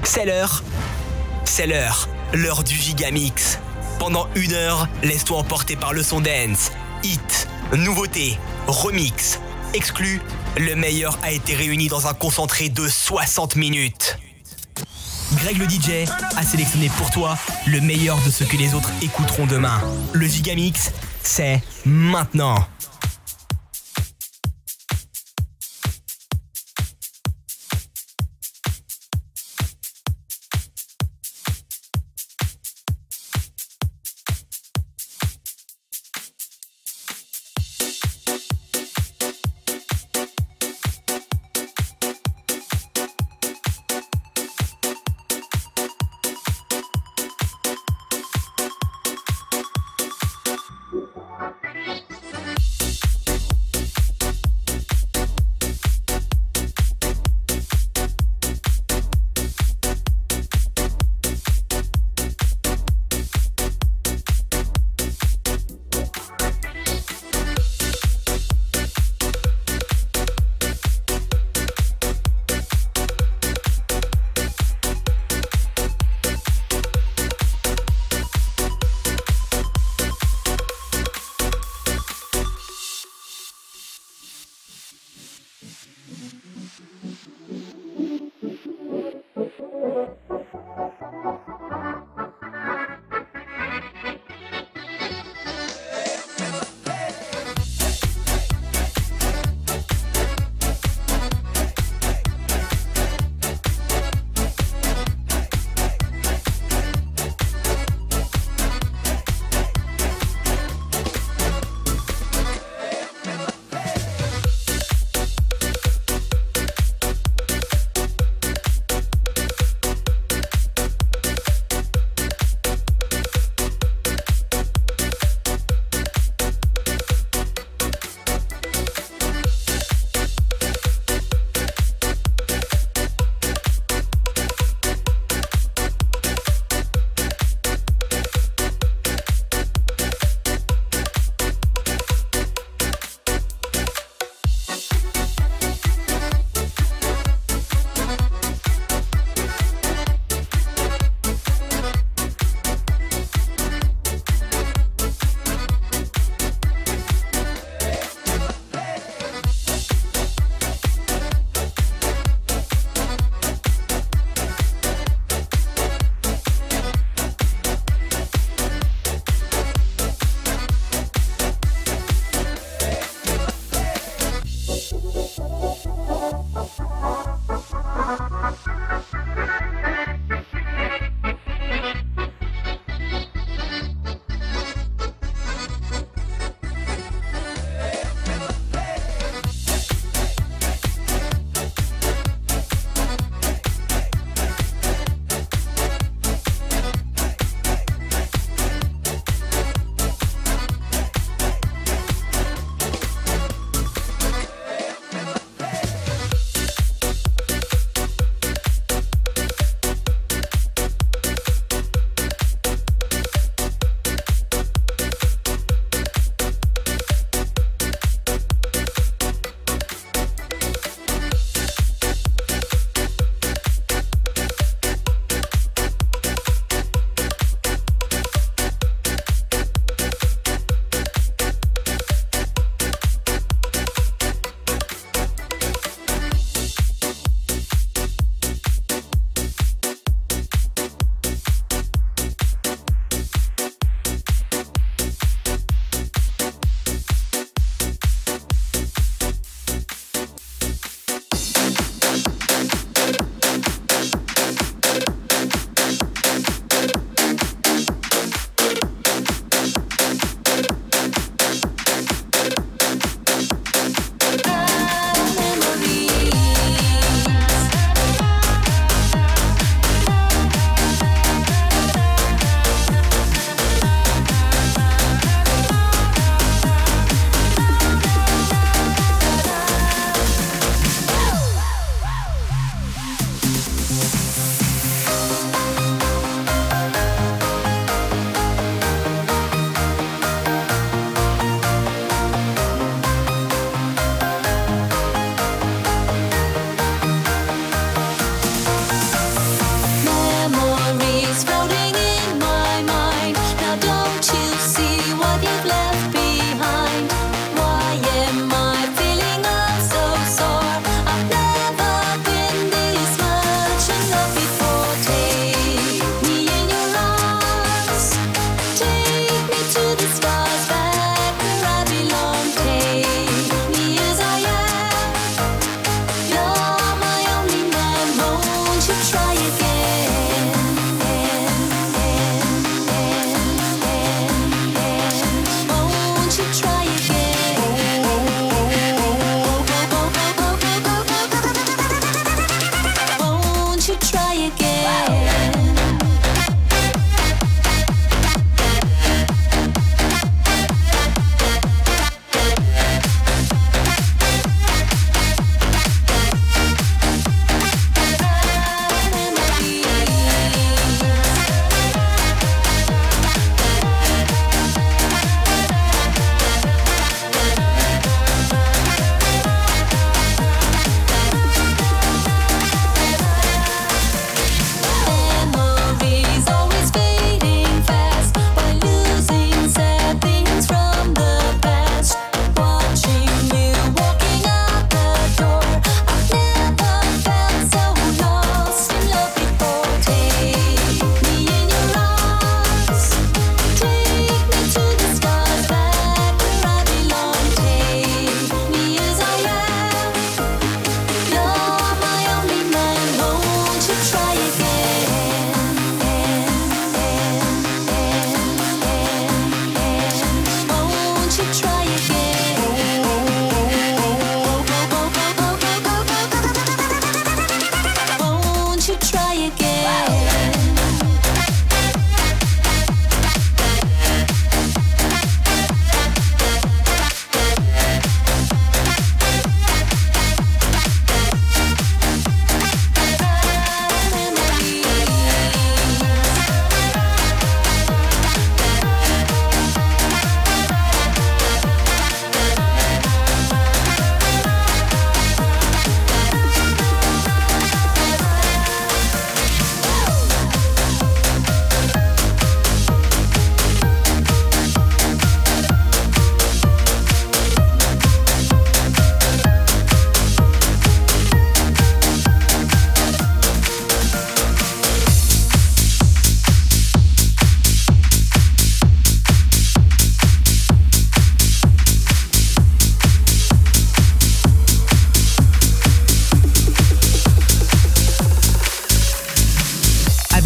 C'est l'heure. C'est l'heure du Gigamix. Pendant 1 heure, laisse-toi emporter par le son dance. Hit, nouveauté, remix, exclu. Le meilleur a été réuni dans un concentré de 60 minutes. Greg le DJ a sélectionné pour toi le meilleur de ce que les autres écouteront demain. Le Gigamix, c'est maintenant.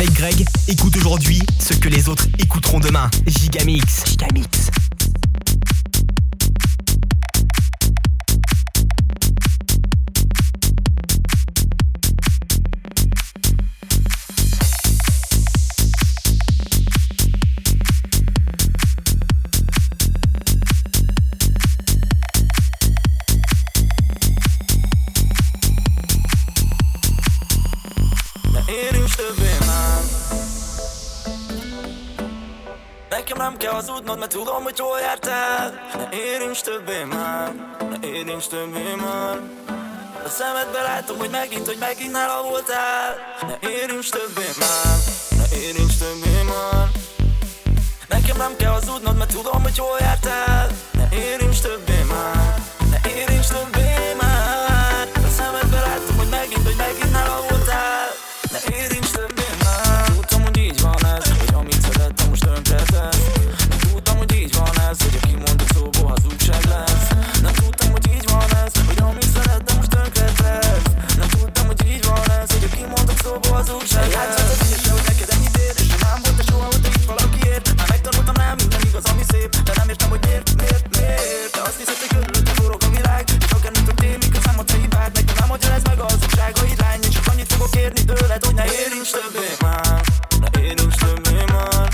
avec Greg, écoute aujourd'hui ce que les autres écouteront demain. Gigamix. Gigamix. Nekem nem kell hazudnod, mert tudom, hogy hol jártál. Ne érints többé már, ne érints többé már. A szemedbe látom, hogy megint nála voltál. Ne érints többé már, ne érints többé már. Nekem nem kell hazudnod, mert tudom, hogy hol jártál. Ne érints többé már, ne érints többé már. A szemedbe látom, hogy megint nála voltál. Ne érints többé már. Tudtam, hogy így van ez, hogy amit szerettem most tönkretesz. Nem tudtam, hogy így van ez, hogy a kimondott szóból hazugság lesz. Nem tudtam, hogy így van ez, hogy amit szerettem most tönkretesz. Nem tudtam, hogy így van ez, hogy a kimondott szóból hazugság lesz. Játszott az ügyesre, hogy neked ennyit ér, és nem volt de soha, hogy te itt valakiért. Már megtanultam rá minden igaz, ami szép, de nem értem, hogy miért. Te azt hiszed, hogy körülötte forog a világ, és akármit történik, miközben a te hibád. Nekem nem magyaráz meg a hazugságaid, lány, és csak annyit fogok kérni tőled, hogy ne érints többé már, ne érints többé már.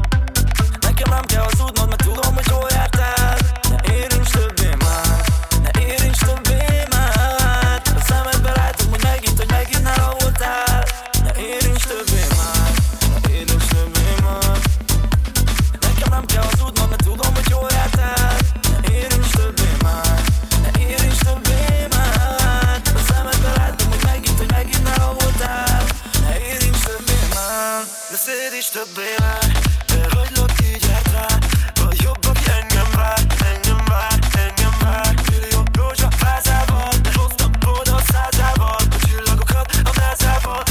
Nekem nem kell hazudnod, mert tudom, hogy hol jártál. Ne érints többé már, ne érints többé már. A szemedbe látom, hogy megint nála voltál. Ne érints többé már, ne érints többé már. Nekem nem kell hazudnod, mert tudom, hogy hol jártál. Ne érints többé már, ne érints többé már. A szemedbe látom, hogy megint nála voltál. Ne érints többé már, ne szédíts többé már. Elhagylak, így járt rá. Vagy jobb, aki engem vár. Millió rózsa vázával, de hoztam oda százával. A csillagokat a názával.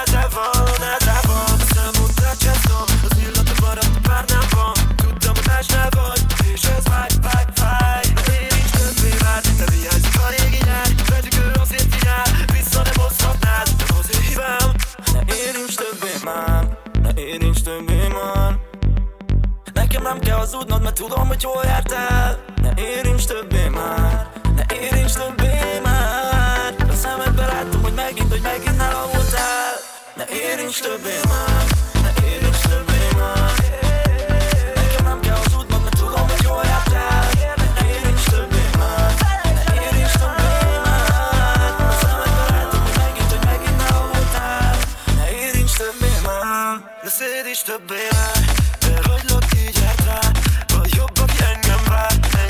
A számot rácsáztam, az illata maradt a párnámban. Tudtam, hogy másnál vagy, és ez fáj. Ne érints többé már, te vigyázzik a régi nyár. Pedig ő azért vigyál, vissza nem hozhatnád, nem azért hibám. Ne érints többé már, ne érints többé már. Nekem nem kell hazudnod, mert tudom, hogy hol jártál. Ne érints többé már, ne érints többé már. A szemedbe látom, hogy megint nála voltál. Ne érints többé már, ne érints többé már. Nekem nem kell hazudnod, mert tudom, hogy hol jártál. Ne érints többé már, ne érints többé már. A szemedbe látom, hogy megint nála voltál. Ne érints többé már, ne szédíts többé már. Elhagylak, így járt rá. Vagy jobb, aki engem vár.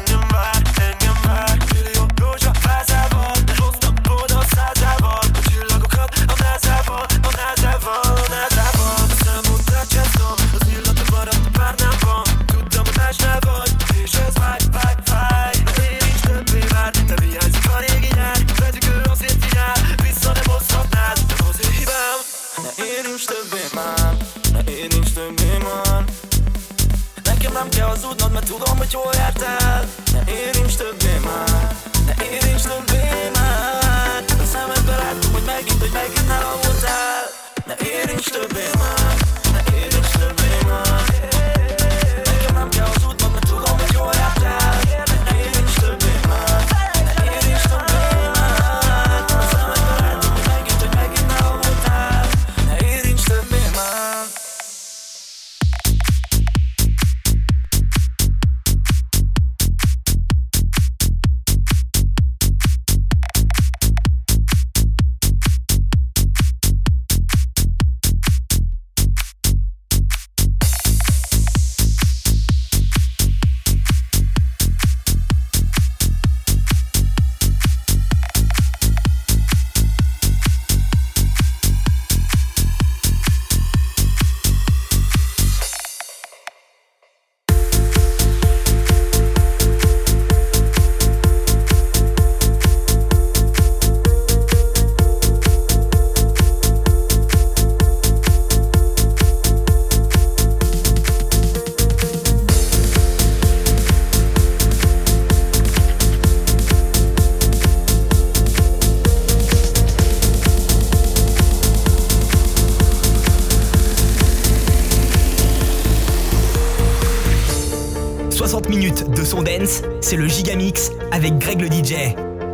Millió rózsa vázával, de hoztam oda százával. A csillagokat a názával. A számot rácsáztam, az illata maradt a párnámban. Tudtam, hogy másnál vagy, és ez fáj. Ne érints többé már, te vigyázzik a régi nyár. Pedig ő azért vigyál, vissza nem hozhatnád, nem azért hibám. Ne érints többé már, ne érints többé már. Nekem nem kell hazudnod, mert tudom, hogy hol jártál. Ne érints többé már, ne érints többé már. A szemedbe látom, hogy megint nála voltál. Ne érints többé már, ne érints többé már. Nekem nem kell hazudnod, mert tudom, hogy hol jártál. Ne érints többé már, ne érints többé már. A szemedbe látom, hogy megint nála voltál. Ne érints többé már. 60 minutes de son dance, c'est le Gigamix avec Greg le DJ.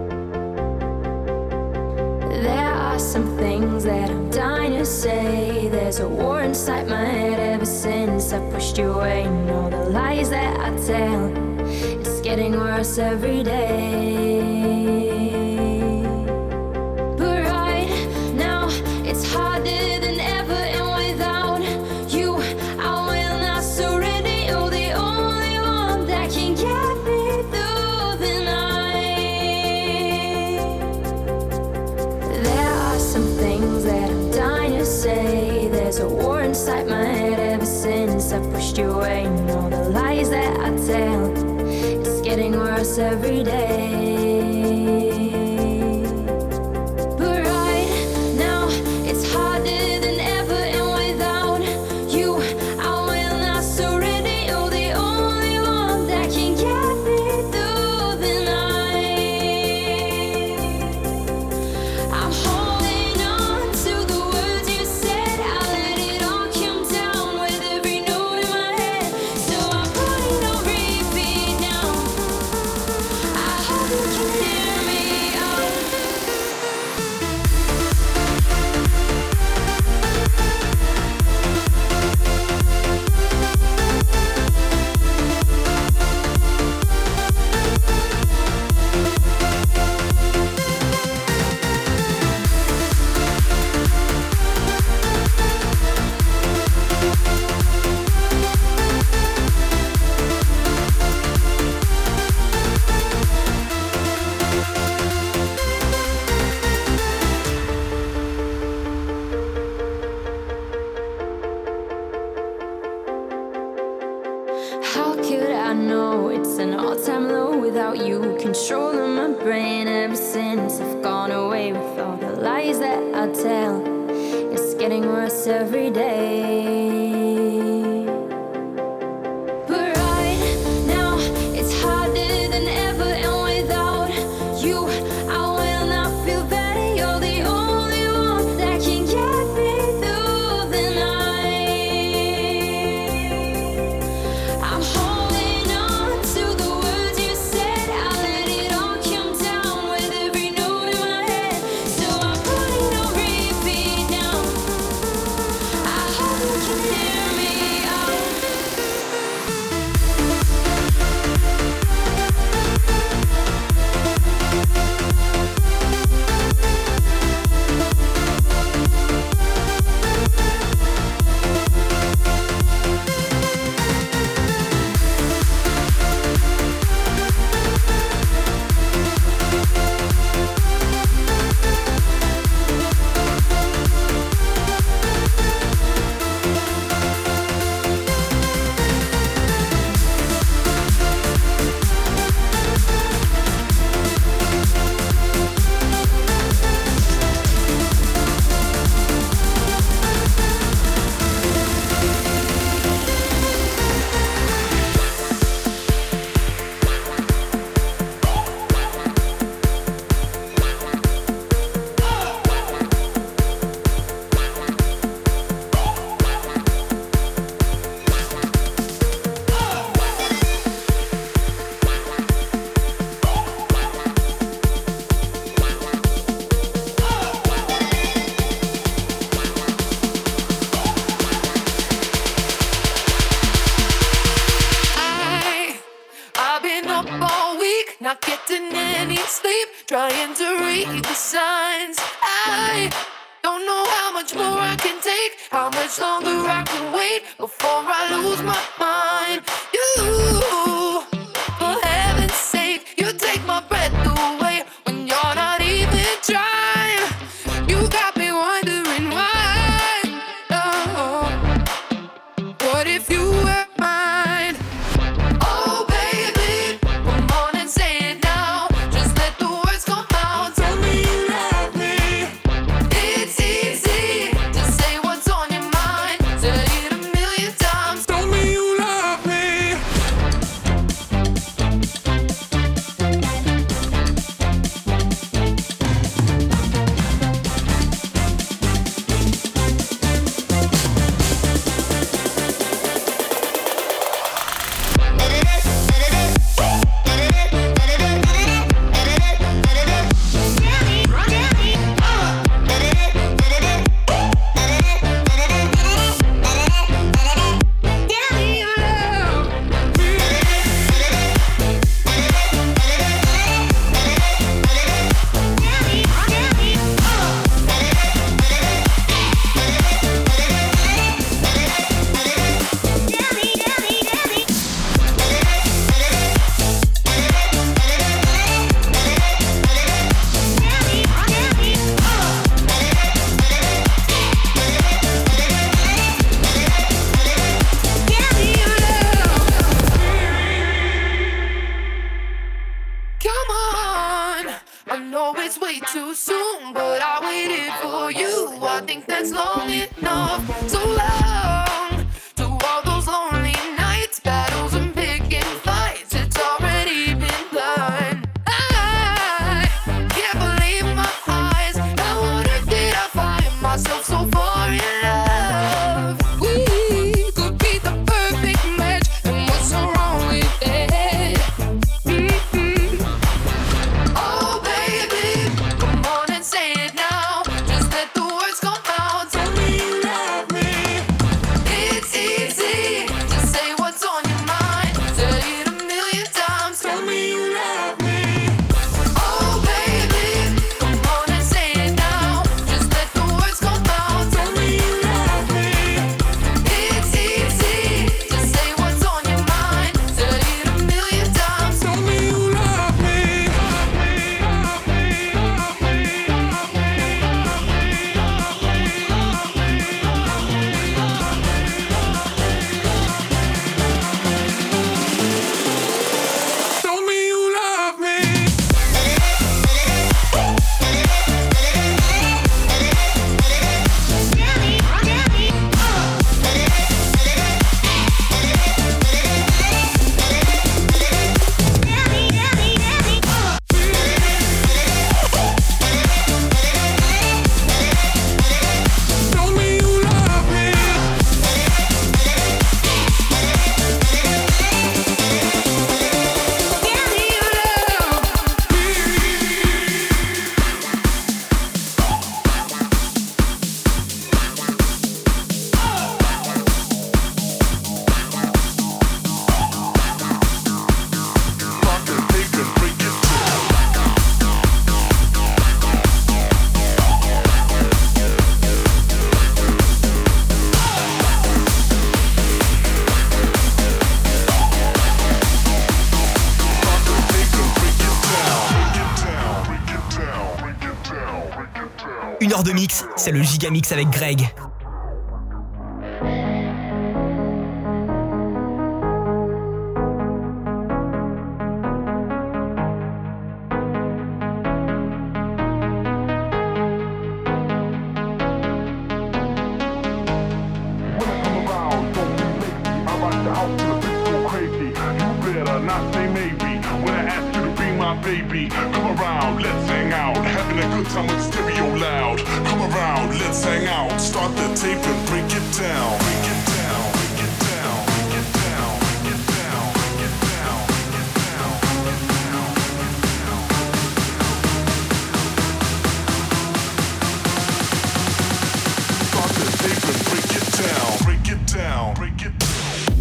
There are some things that I'm dying to say. There's a war inside my head ever since I pushed you away. And all the lies that I tell, it's getting worse every day. But right now, it's harder than ever. And without you, I will not surrender. You're the only one that can get me through the night. There are some things that I'm dying to say. There's a war inside my head ever since I pushed you away. And all the lies that I tell, it's getting worse every day. But right now, it's harder than ever. And without you, I will not surrender. You're the only one that can get me through the night. I'm holding on to the words you said. I let it all come down with every note in my head. So I'm putting on repeat now. I hope you can hear me out. How could I know it's an all-time low without you controlling my brain? Ever since I've gone away with all the lies that I tell, it's getting worse every day. But right now, it's harder than ever. And without you, I will not feel better. You're the only one that can get me through the night. I'm holding on to the words you said. I let it all come down with every note in my head. So I'm putting on repeat now. I hope you can hear me out. I've been up all week, not getting any sleep, trying to read the signs. I don't know how much more I can take, how much longer I can wait before I lose my mind. You, for heaven's sake, you take my breath away when you're not even trying. You got me wondering why. Oh, what if you were mine? Oh baby, come on and say it now. Just let the words come out. Tell me you love me. It's easy to say what's on your mind. Say it a million times. Tell me you love me. think that's long enough. So long to all those lonely nights, battles and picking fights. It's already been done. I can't believe my eyes. I wonder did I find myself so far in love? We could be the perfect match, and what's so wrong with it? Oh baby, come on and say it now. Just let the words come out. Tell me you love me. It's easy to say what's on your mind. Say it a million times. Tell me you love me. Oh baby, come on and say it now. Just let the words come out. Tell me you love me. It's easy to say what's on your mind. Say it a million times. Tell me you love me. Tell me you love me. Tell me you love me. Une heure de mix, c'est le Gigamix avec Greg. Baby, come around, let's hang out. Having a good time with the stereo loud. Come around, let's hang out. Start the tape and break it down. Break it down, break it down, break it down, break it down, break it down, break it down, break it down, break it down. Start the tape and break it down. Break it down, break it down.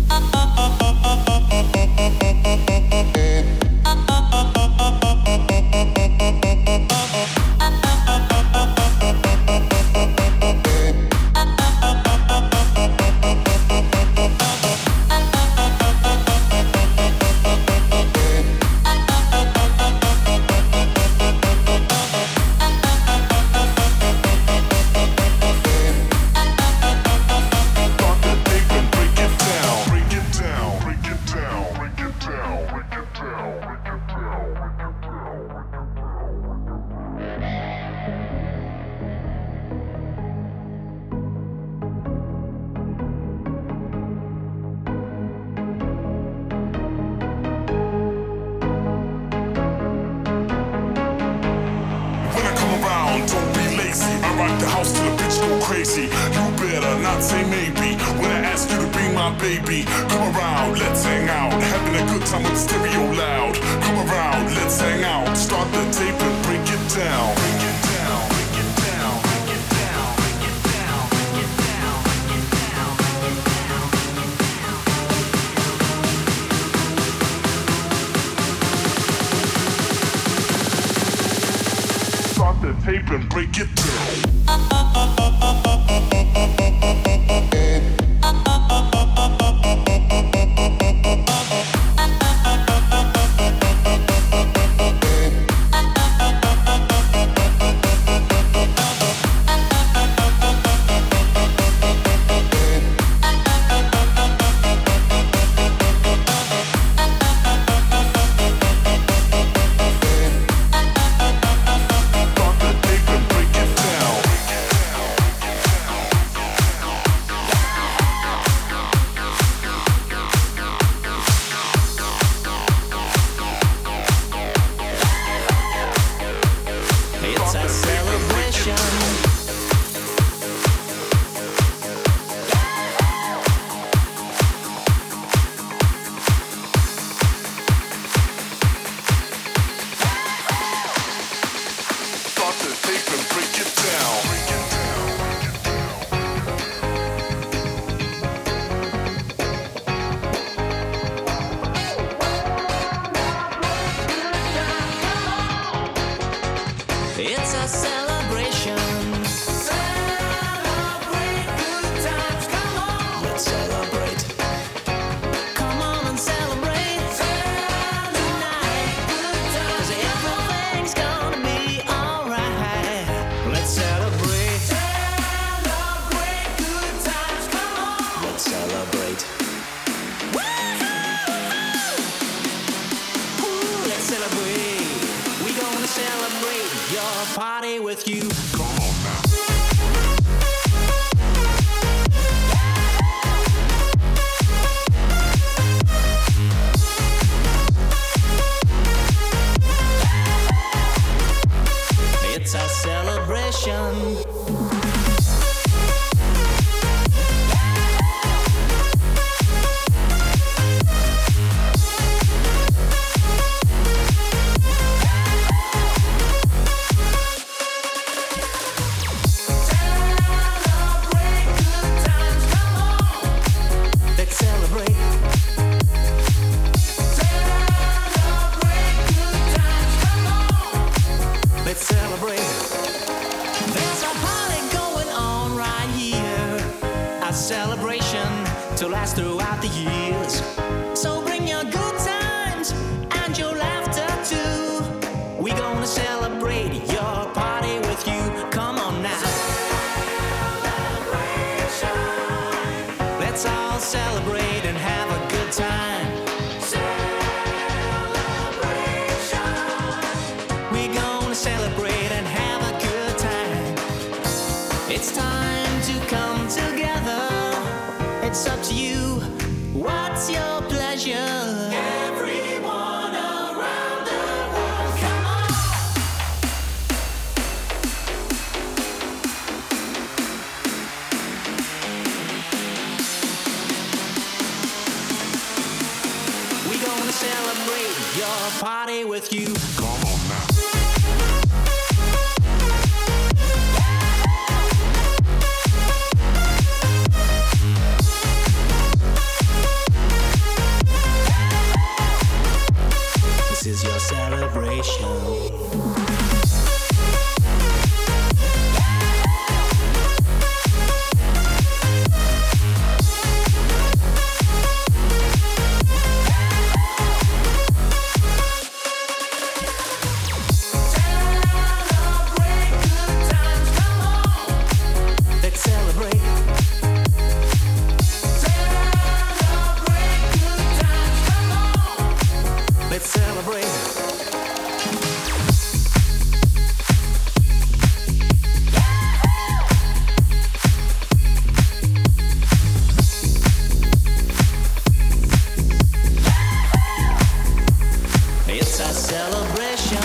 Crazy, you better not say maybe when I ask you to be my baby. Come around, let's hang out. Having a good time with the stereo loud. Come around, let's hang out. Start the tape and break it down. Break it down, break it down, break it down, break it down, break it down, break it down, break it down. Start the tape and break it down. party with you. Come on now. It's a celebration. Let's celebrate. There's a party going on right here. A celebration to last throughout the years. So bring your good times and your laughter too. We're gonna celebrate your party with you. Come on now. Let's all celebrate and have a good time. We're gonna celebrate and have a good time. It's time to come together. It's up to you. What's your pleasure? Everyone around the world, come on. We're gonna celebrate your party with you. Come on now. This is your celebration. Let's celebrate. Let's celebrate. It's a celebration.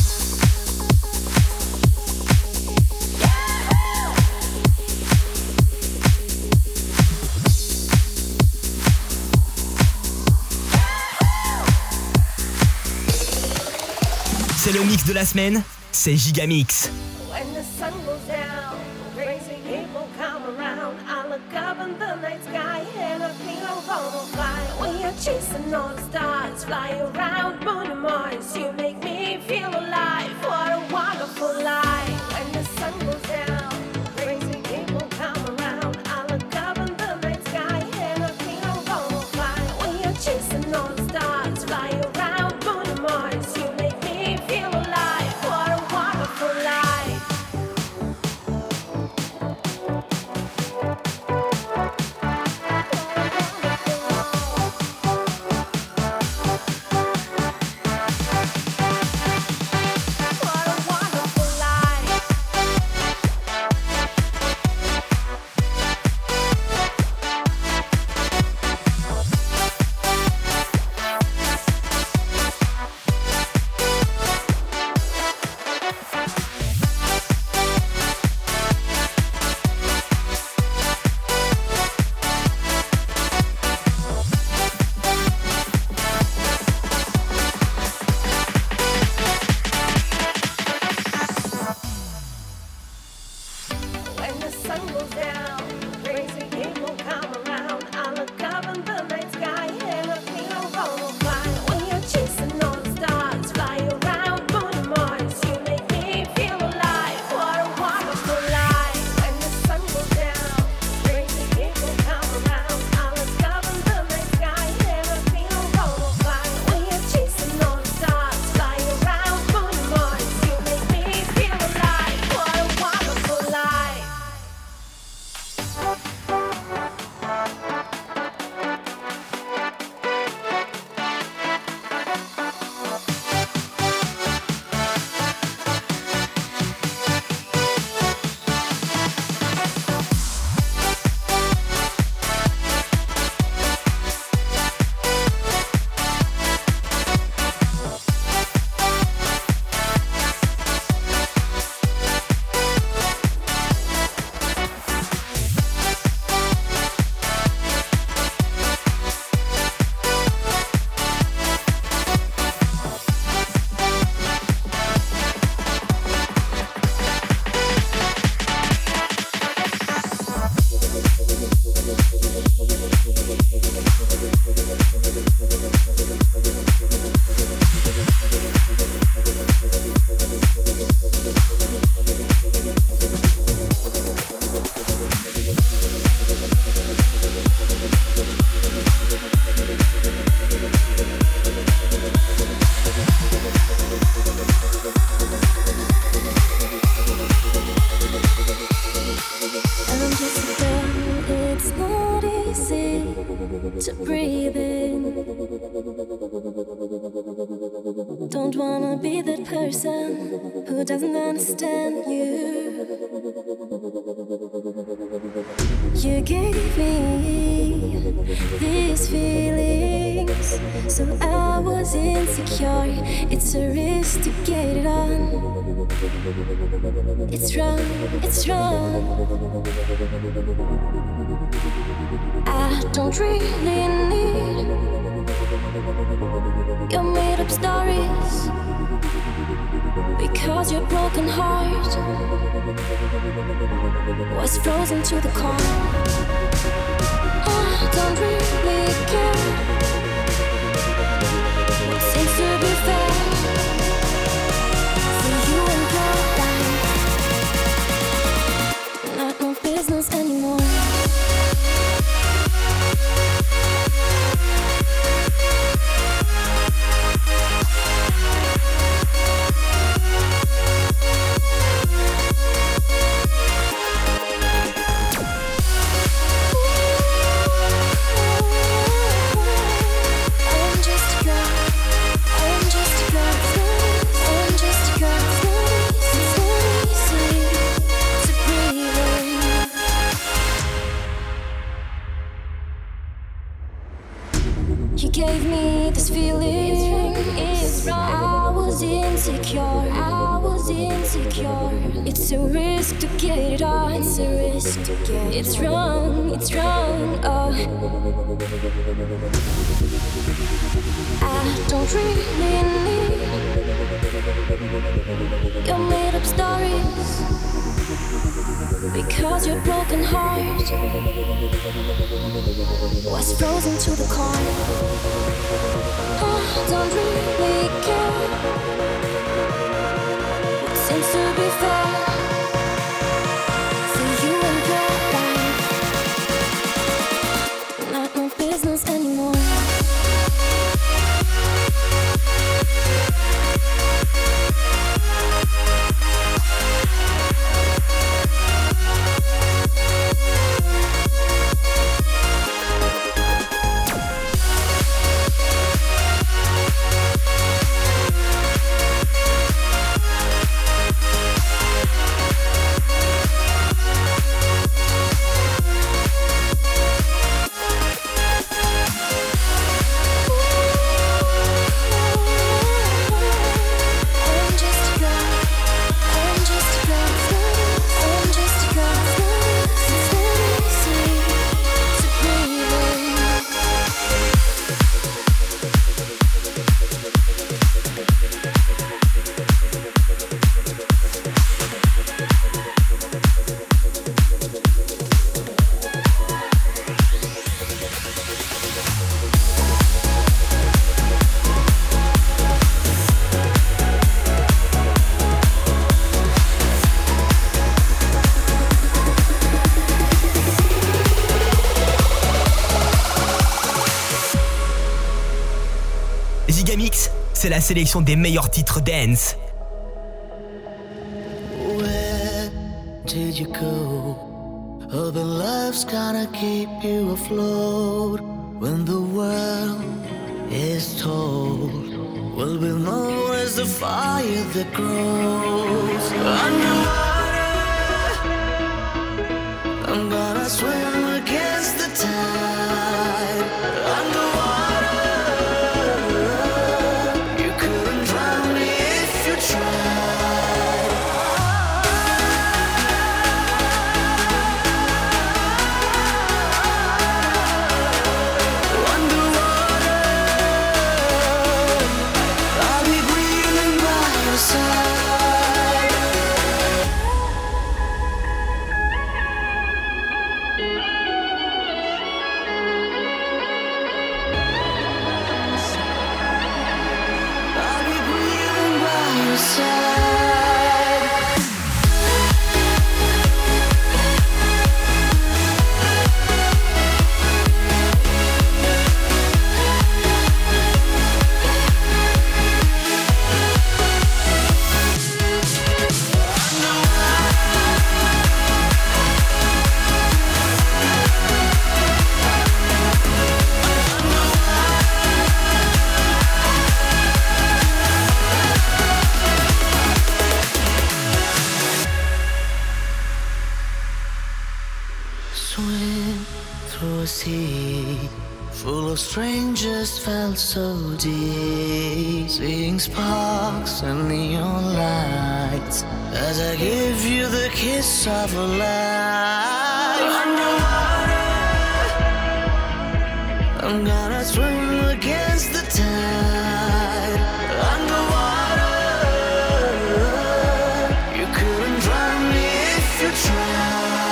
C'est le mix de la semaine, c'est Gigamix. When the sun goes down, crazy people come around. I look up in the night sky and I feel I'm gonna fly. When you're chasing all the stars, fly around Moon and Mars. You make me feel alive. What a wonderful life. When the sun goes down, crazy people come around. I look up in the night sky and I feel I'm gonna fly. When you're chasing all the stars, fly around Moon and Mars. You make me feel alive. What a wonderful life. to breathe in. Don't wanna be that person who doesn't understand you. You gave me these feelings, so I was insecure. It's a risk to get it on. It's wrong, it's wrong. I don't really need your made up stories, because your broken heart was frozen to the core. I don't really care what seems to be fair for you and your life. Not no business anymore. You gave me this feeling. It's wrong. I was insecure. It's a risk to get it on. It's a risk to get it. It's wrong. It's wrong. Oh. I don't really need your made up stories, because your broken heart was frozen to the core. I don't really care what seems to be fair for you and your life. Not no business anymore. Gigamix, c'est la sélection des meilleurs titres dance. Where did you go? Urban love's gonna keep you afloat when the world is told. Will be known as the fire that grows underwater. I'm gonna swim against the tide. Underwater, you couldn't drown me if you tried. Underwater, I'll be breathing by your side. through a sea full of strangers felt so deep, seeing sparks and neon lights as I give you the kiss of a life. Underwater, I'm gonna swim against the tide. Underwater, you couldn't drown me if you tried.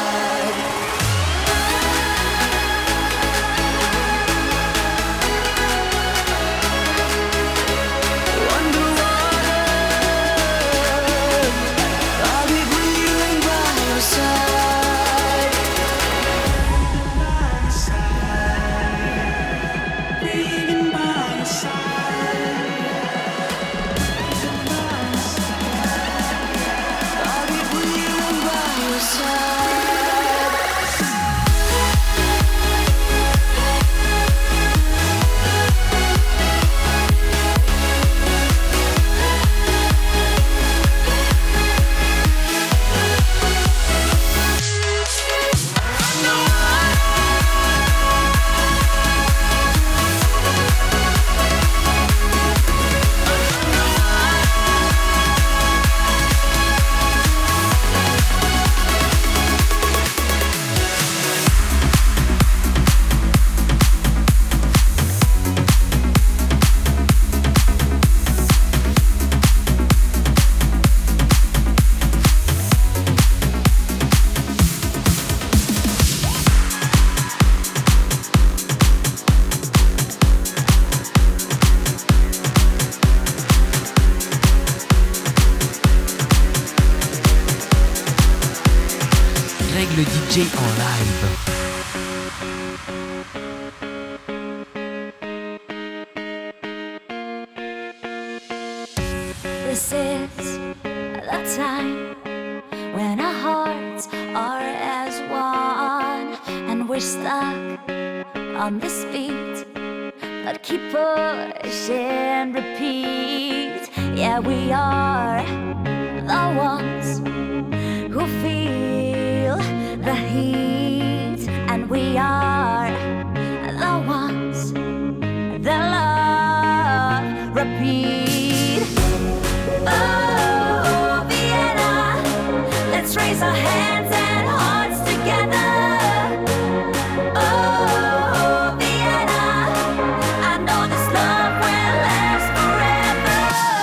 Le DJ en live. This is the time when our hearts are as one, and we're stuck on this beat, but keep pushing, repeat. Yeah, we are the ones who feel the heat, and we are the ones that love repeat. Oh, Vienna, let's raise our hands and hearts together. Oh, Vienna, I know this love will last forever.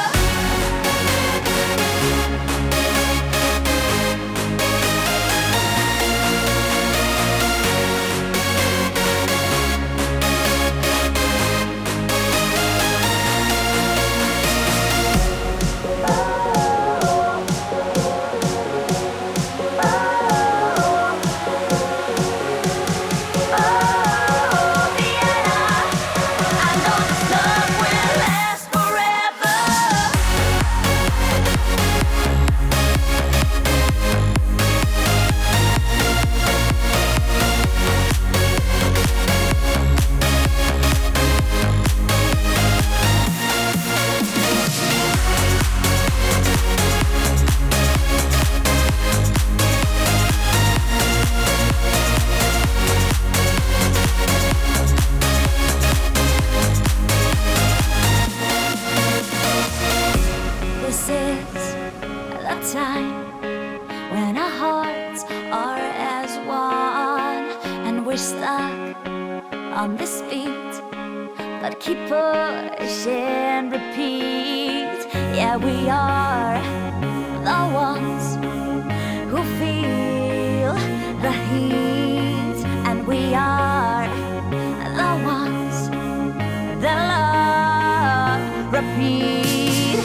On this beat, but keep pushing, repeat. Yeah, we are the ones who feel the heat, and we are the ones that love repeat.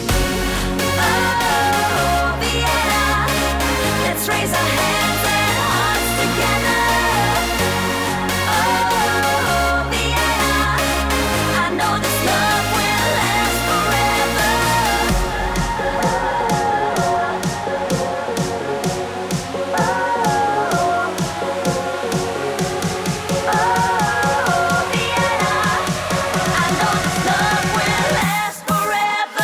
Oh, Vienna, let's raise our hands and hearts together. Forever.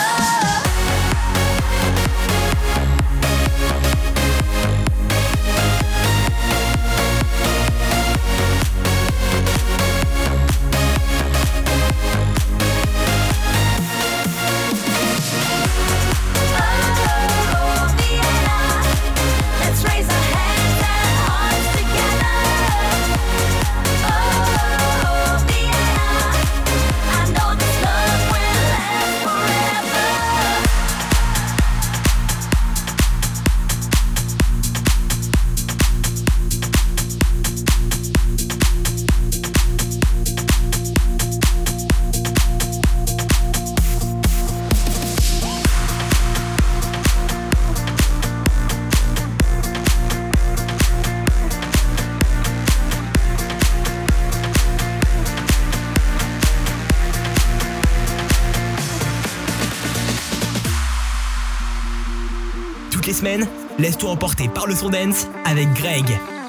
semaines, laisse-toi emporter par le son dance avec Greg.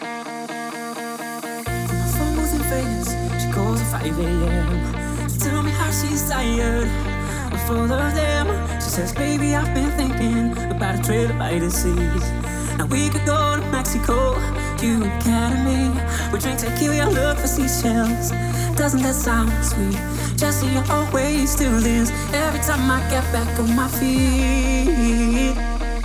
phone was in Vegas. She calls at 5 a.m. She tell me how she's tired of all of them. She says, baby, I've been thinking about a trip by the seas. Now we could go to Mexico, you and Kat and me. We drink tequila, look for seashells. Doesn't that sound sweet? Jesse always still is. Every time I get back on my feet.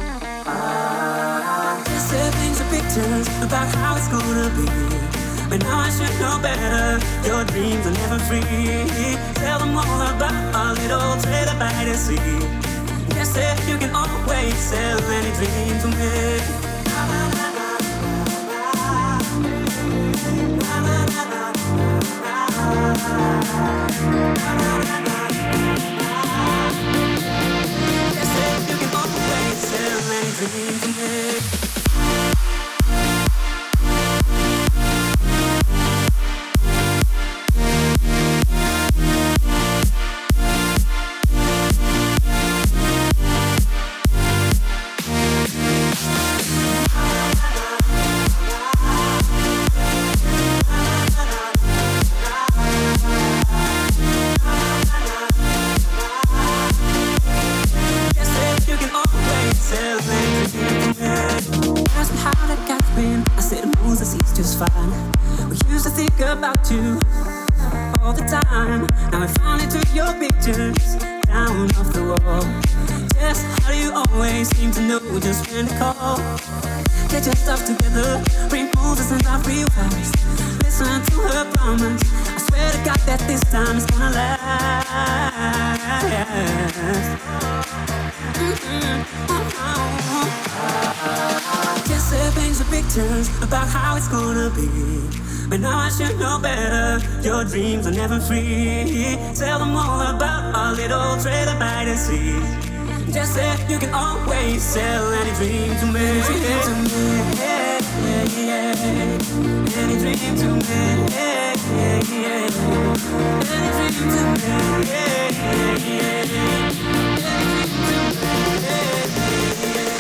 Said things are pictures about how it's gonna be. But now I should know better. Your dreams are never free. Tell them all about our little trailer by the sea. Yes, said you can always sell any dream to me. Yes, said you can always sell any dream to me. About you all the time. Now I finally took your pictures down off the wall. Just how do you always seem to know just when to call? Get your stuff together, remove the sense of real fast. Listen to her promise. I swear to God that this time it's gonna last. Just say things with pictures about how it's gonna be. But now I should know better. Your dreams are never free. Tell them all about our little trailer by the sea. Just say you can always sell any dream to me. Any dream to me, yeah, yeah, yeah. Any dream to me, yeah, yeah, yeah. Any dream to me, yeah, yeah, yeah. Any dream to me, yeah, yeah, yeah.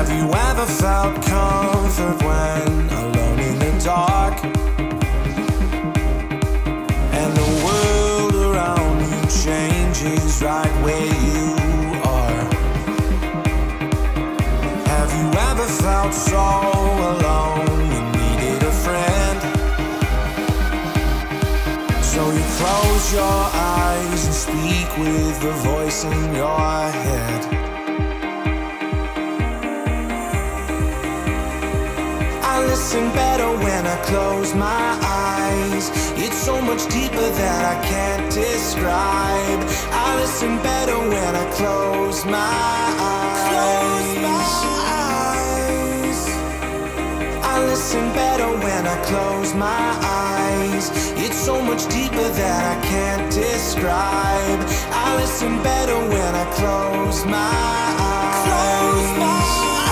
Have you ever felt comfort when alone in the dark? And the world around you changes right where you are. Have you ever felt so alone you needed a friend? So you close your eyes and speak with the voice in your head. I listen better when I close my eyes. It's so much deeper that I can't describe. I listen better when I close my eyes. I listen better when I close my eyes. It's so much deeper that I can't describe. I listen better when I close my eyes. Close my eyes.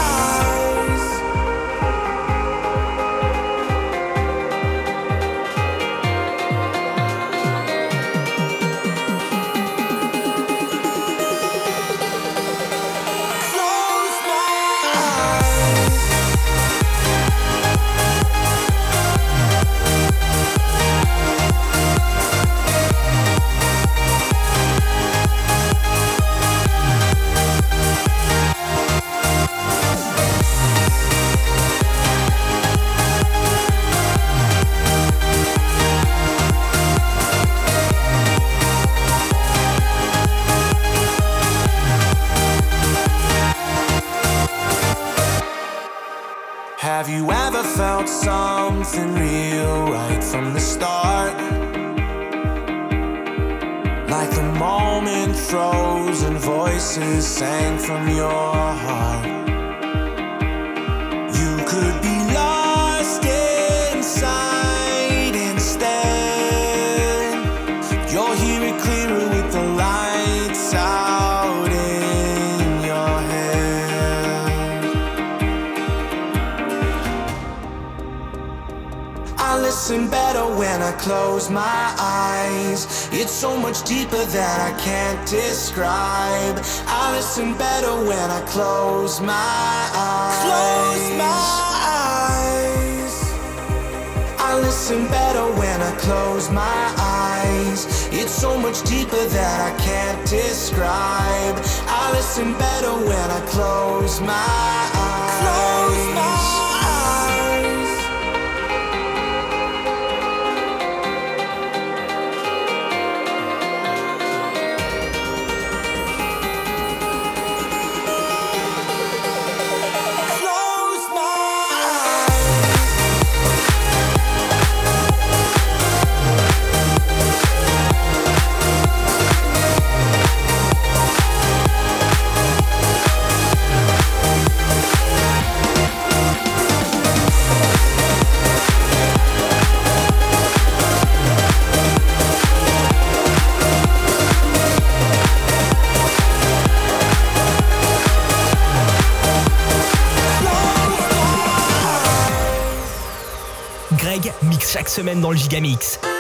Have you ever felt something real right from the start? Like the moment froze and voices sang from your heart. You could be lost inside instead. You'll hear it clearer with the lights out in your head. I listen better when I close my eyes. It's so much deeper that I can't describe. I listen better when I close my eyes. Close my eyes. I listen better when I close my eyes. It's so much deeper that I can't describe. I listen better when I close my eyes. Close my eyes. Greg mixe chaque semaine dans le Gigamix.